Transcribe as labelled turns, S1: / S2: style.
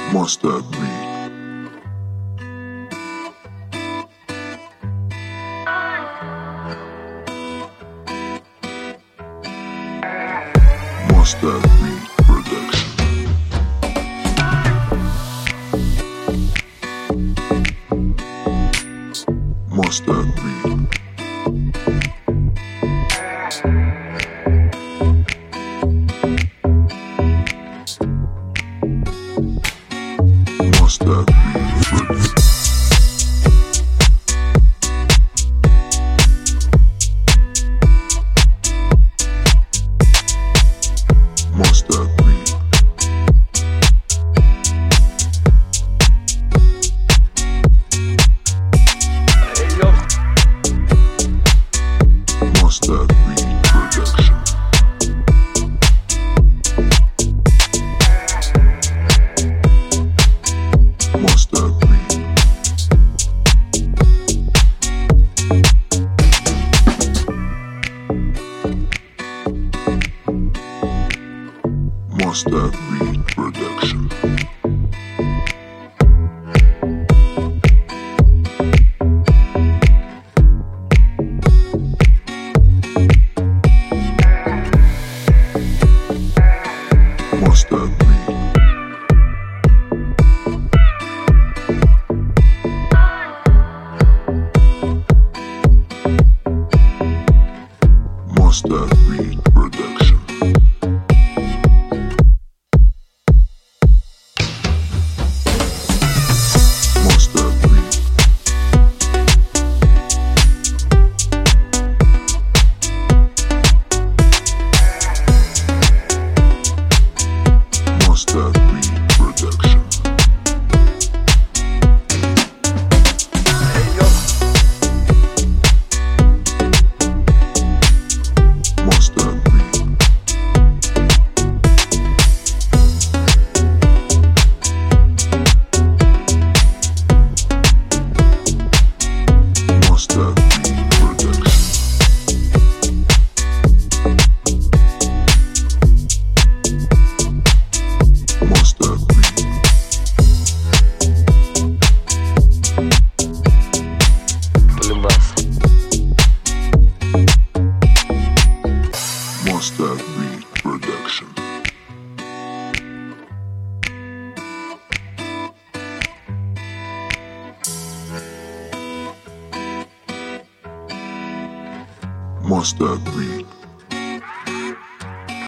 S1: Mustard Beat. Mustard Beat Production. Mustard Beat. Mustard Beat Production. Mustard Beat. Mustard Beat Production. Mustard Beat. Mustard Beat Production. Mustard Beat. Mustard Beat Production. Mustard Beat. Mustard Beat Production. Mustard Beat. Mustard Beat Production. Mustard Beat. Mustard Beat Production. Mustard Beat.